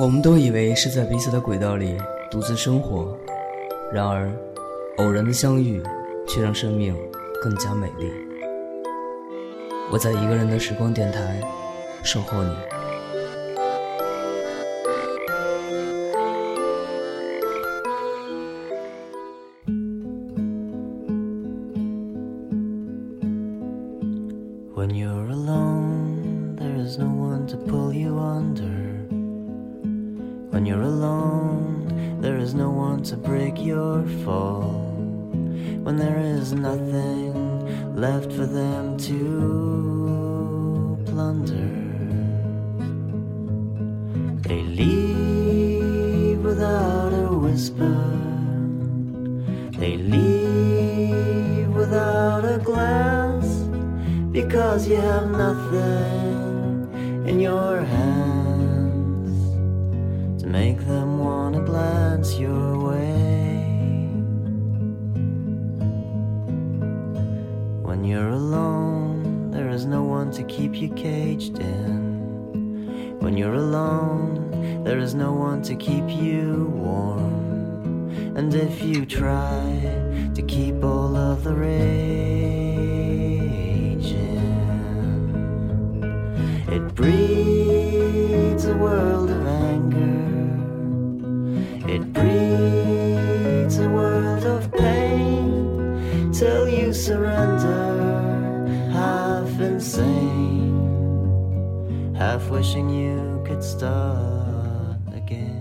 我们都以为是在彼此的轨道里独自生活，然而偶然的相遇却让生命更加美丽。我在一个人的时光电台守候你。 When you're alone, there is no one to pull you under. When you're alone, there is no one to break your fall. When there is nothing left for them to plunder, they leave without a whisper. They leave without a glance, because you have nothing in your hands to make them want to glance your way. When you're alone, there is no one to keep you caged in. When you're alone, there is no one to keep you warm. And if you try to keep all of the rage in, it breeds a world of anger. It breeds a world of pain, till you surrender, half insane, half wishing you could start again.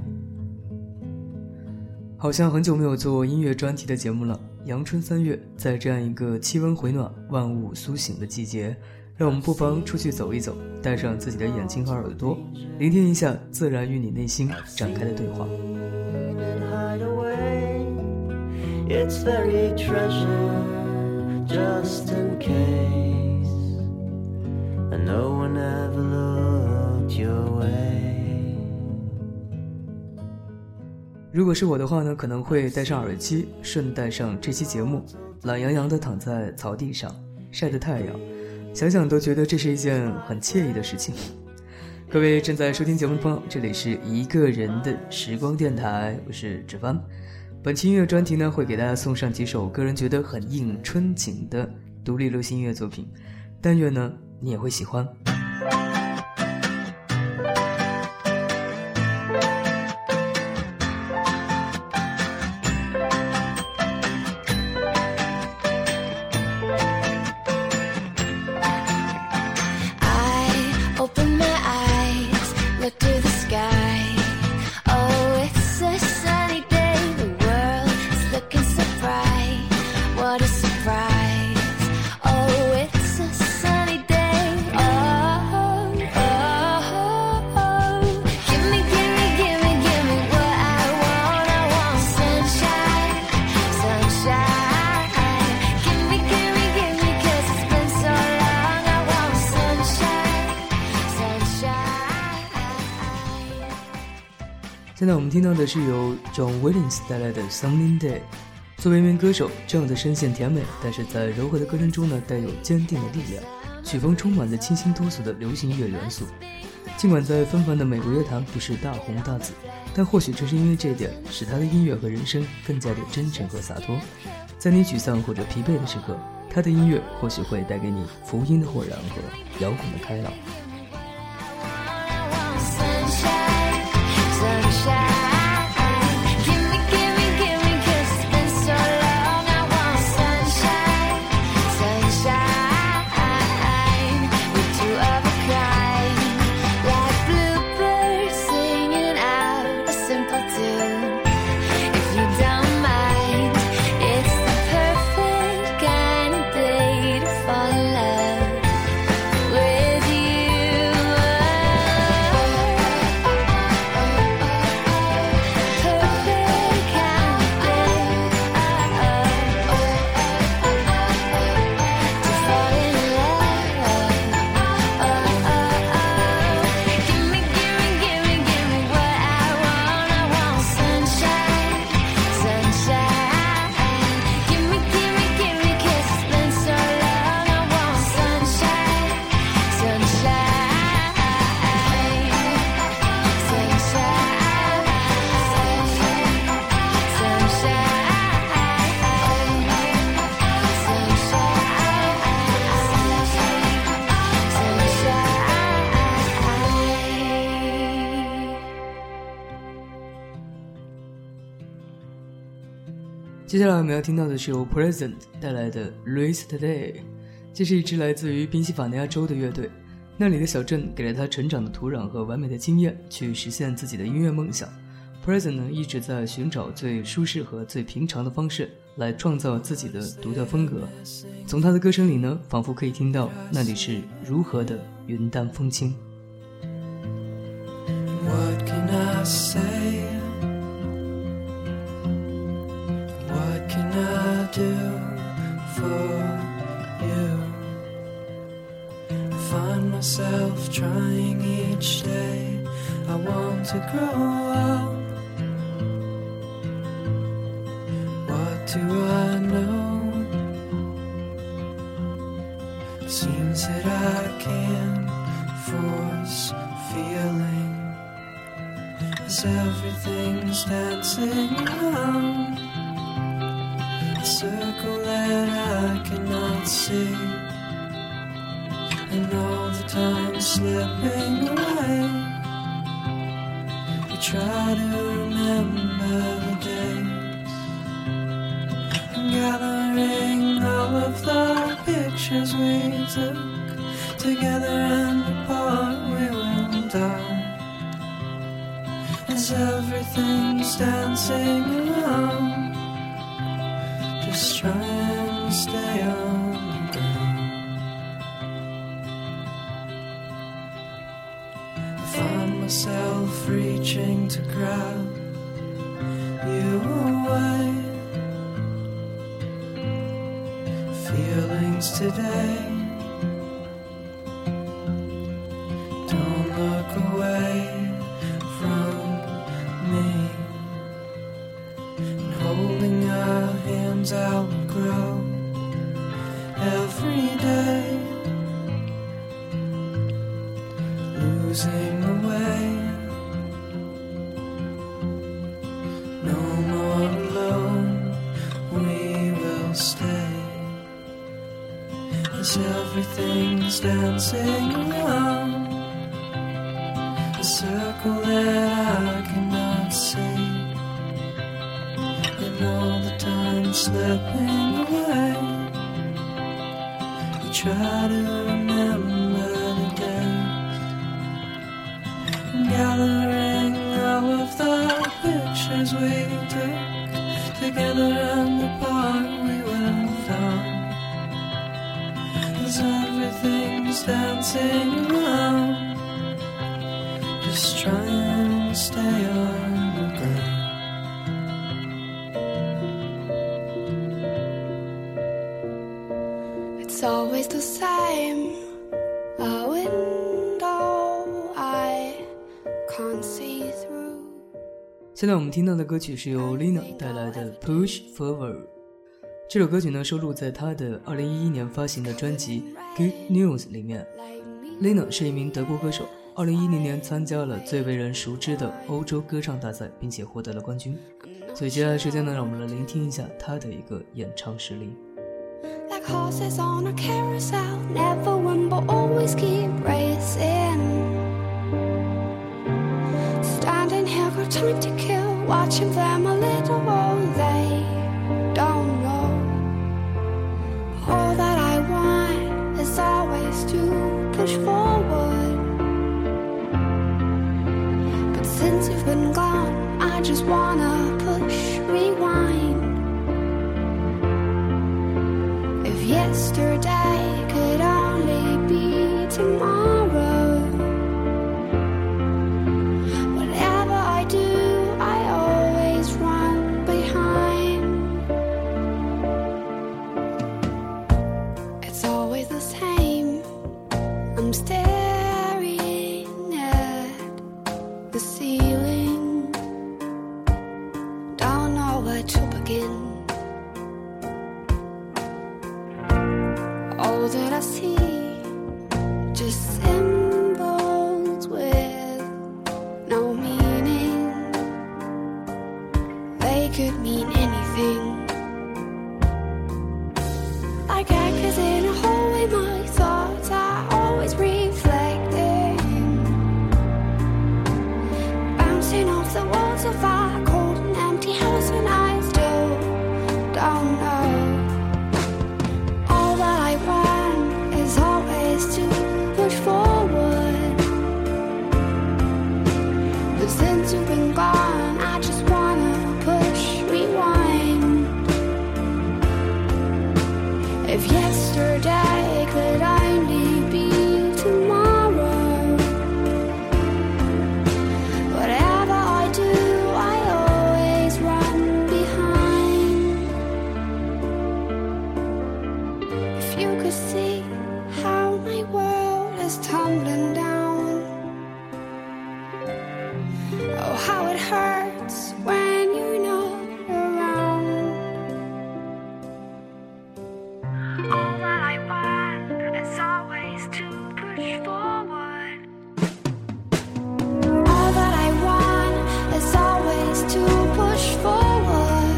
好像很久没有做音乐专题的节目了。阳春3月，在这样一个气温回暖、万物苏醒的季节，让我们不妨出去走一走，带上自己的眼睛和耳朵，聆听一下自然与你内心展开的对话。 It's very treasure, just in case, and no one ever looked your way. 如果是我的话呢，可能会戴上耳机，顺带上这期节目，懒洋洋地躺在草地上，晒着太阳，想想都觉得这是一件很惬意的事情。各位正在收听节目的朋友，这里是一个人的时光电台，我是芷帆。本期音乐专题呢，会给大家送上几首个人觉得很应春景的独立流行音乐作品，但愿呢你也会喜欢。现在我们听到的是由 John Williams 带来的 Sunny Day。 作为一名歌手，这样的声线甜美，但是在柔和的歌声中呢，带有坚定的力量，曲风充满了清新脱俗的流行音乐元素。尽管在纷繁的美国乐坛不是大红大紫，但或许正是因为这点，使他的音乐和人生更加的真诚和洒脱。在你沮丧或者疲惫的时刻，他的音乐或许会带给你福音的豁然和摇滚的开朗。 With you 接下来我们要听到的是由 Present 带来的 Race Today， 这是一支来自于宾夕法尼亚州的乐队，那里的小镇给了他成长的土壤和完美的经验，去实现自己的音乐梦想。Present 呢一直在寻找最舒适和最平常的方式来创造自己的独特风格，从他的歌声里呢，仿佛可以听到那里是如何的云淡风轻。 What can I say? What can I do for you? I find myself trying each day. I want to grow up. What do I know? Seems that I can't force feeling, as everything's dancing around a circle that I cannot see, and all the time slipping away. We try to remember the days, gathering all of the pictures we took together, and apart we will die, as everything's dancing around. Just try and stay on the ground. I find myself reaching to grab you away. Feelings today, don't look away from me. And holding our hands out will grow every day, losing the way. No more alone, we will stay, as everything's dancing around a circle that I cannot see, and all the time slipping away. We try to remember the days, and gathering all of the pictures we took together, and apart we will find, as everything's dancing around. Just try and stay on the ground. It's always the same, a window I can't see through. 现在我们听到的歌曲是由 Lina 带来的 Push Forward。这首歌曲呢收录在她的2011年发行的专辑 Good News 里面。Lina 是一名德国歌手，2010年参加了最为人熟知的欧洲歌唱大赛，并且获得了冠军。所以接下来时间呢，让我们来聆听一下她的一个演唱实力。 Like horses on a carousel, never win but always keep racing. Standing here, got time to kill, watching them a little while they don't know. All that I want is always to push forward, but since you've been gone, I just wanna push rewind. If yesterday could only be tomorrow, whatever I do, I always run behind. It's always the same, I'm staring at the ceiling, don't know where to begin. All that I see, just symbols with no meaning. They could mean anything. Like anchors in a hallway, my thoughts are always reflecting, bouncing off the walls of our cold and empty house, and I still could see how my world is tumbling down. Oh, how it hurts when you're not around. All that I want is always to push forward. All that I want is always to push forward.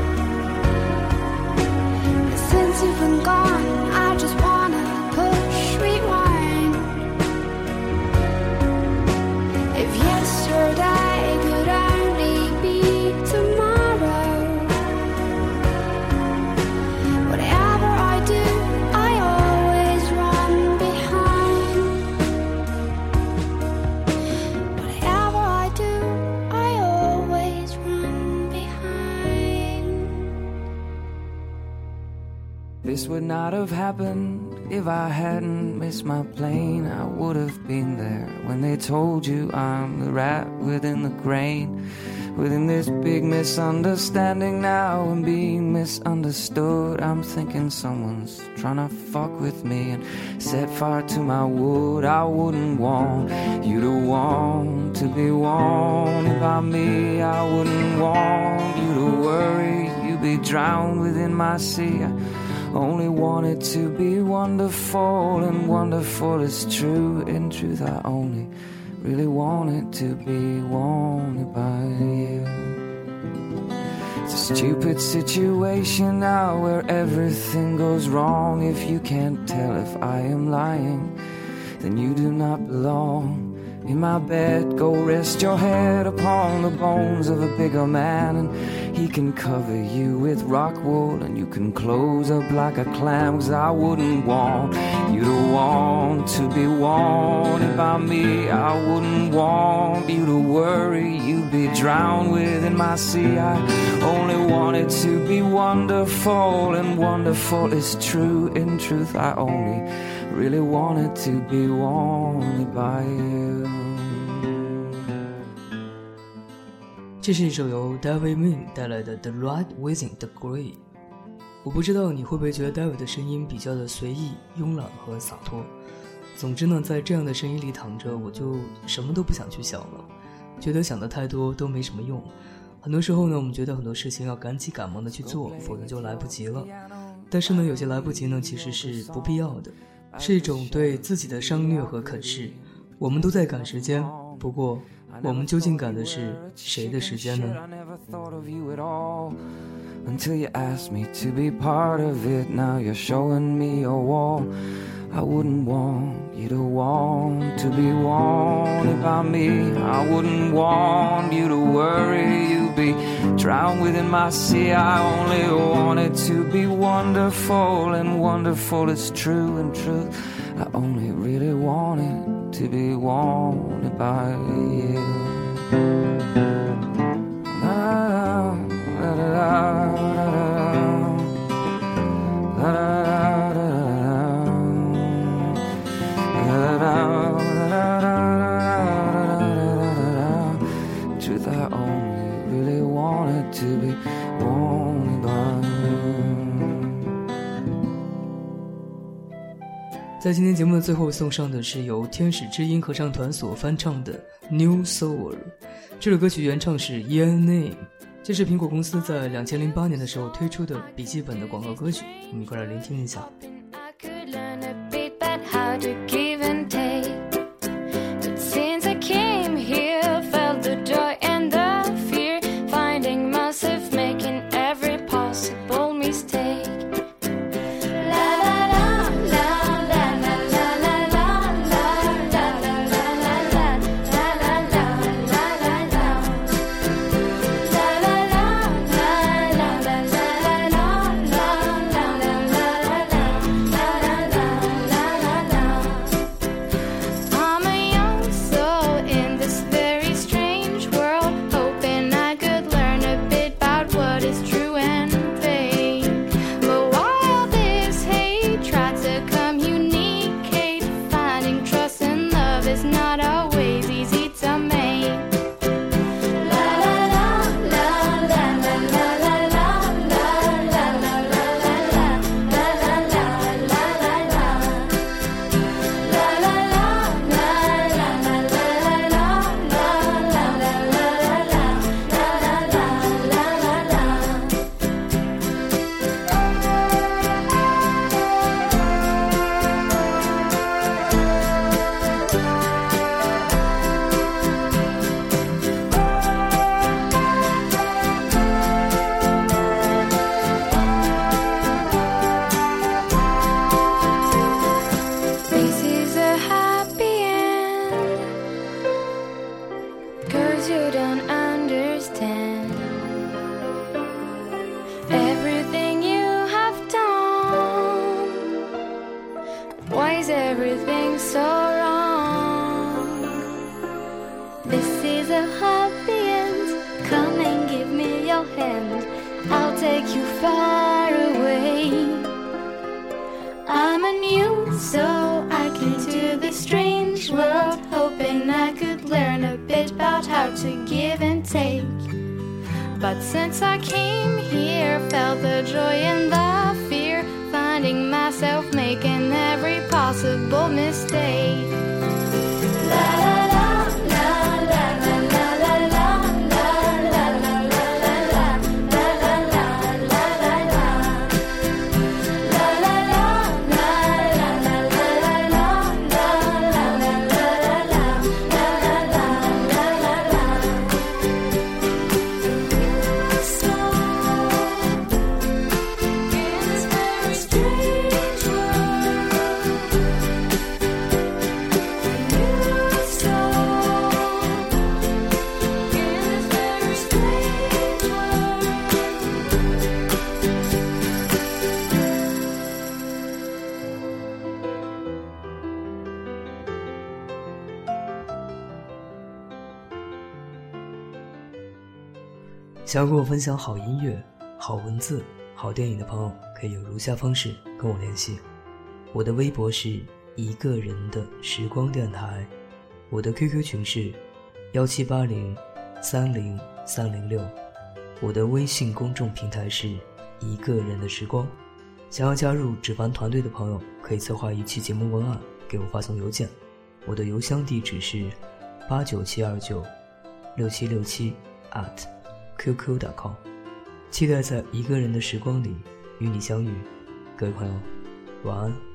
But since you've been gone, I just wanna push rewind. If yesterday could only be tomorrow, whatever I do, I always run behind. Whatever I do, I always run behind. This would not have happened if I hadn't missed my plane. I would have been there when they told you I'm the rat within the grain. Within this big misunderstanding now and being misunderstood, I'm thinking someone's trying to fuck with me and set fire to my wood. I wouldn't want you to want to be wanted by me. I wouldn't want you to worry you'd be drowned within my sea. I only want it to be wonderful, and wonderful is true. In truth, I only really want it to be wanted by you. It's a stupid situation now where everything goes wrong. If you can't tell if I am lying, then you do not belong in my bed. Go rest your head upon the bones of a bigger man, and he can cover you with rock wool, and you can close up like a clam. 'Cause I wouldn't want you to want to be wanted by me. I wouldn't want you to worry you'd be drowned within my sea. I only want it to be wonderful, and wonderful is true. In truth, I only really want it to be wanted by you. 这是一首由 David Min 带来的 The Ride Within the Grey。 我不知道你会不会觉得 David 的声音比较的随意、慵懒和洒脱。总之呢，在这样的声音里躺着，我就什么都不想去想了，觉得想的太多都没什么用。很多时候呢，我们觉得很多事情要赶紧赶忙的去做，否则就来不及了。但是呢，有些来不及呢，其实是不必要的，是一种对自己的伤虐和啃噬。我们都在赶时间，不过我们究竟赶的是谁的时间呢？ Until you asked me to be part of it, now you're showing me your wall. I wouldn't want you to want to be wanted by me. I wouldn't want you to worry you'd be drowned within my sea. I only want it to be wonderful, and wonderful is true. In truth, I only really want it to be wanted by you. Truth, I only really wanted to be wanted by you. 在今天节目的最后送上的是由天使之音合唱团所翻唱的 New Soul。 这首歌曲原唱是 Ian Name， 这是苹果公司在2008年的时候推出的笔记本的广告歌曲，我们一块来聆听一下。 far away. I'm a new soul, I came to this strange world, hoping I could learn a bit about how to give and take. But since I came here, felt the joy and the fear, finding myself making every possible mistake. La la la la la la la la la la la la 想要跟我分享好音乐、好文字、好电影的朋友，可以有如下方式跟我联系。我的微博是一个人的时光电台，我的 QQ 群是178030306，我的微信公众平台是一个人的时光。想要加入纸凡团队的朋友，可以策划一期节目文案给我发送邮件，我的邮箱地址是897296767@qq.com， 期待在一个人的时光里与你相遇。各位朋友，晚安。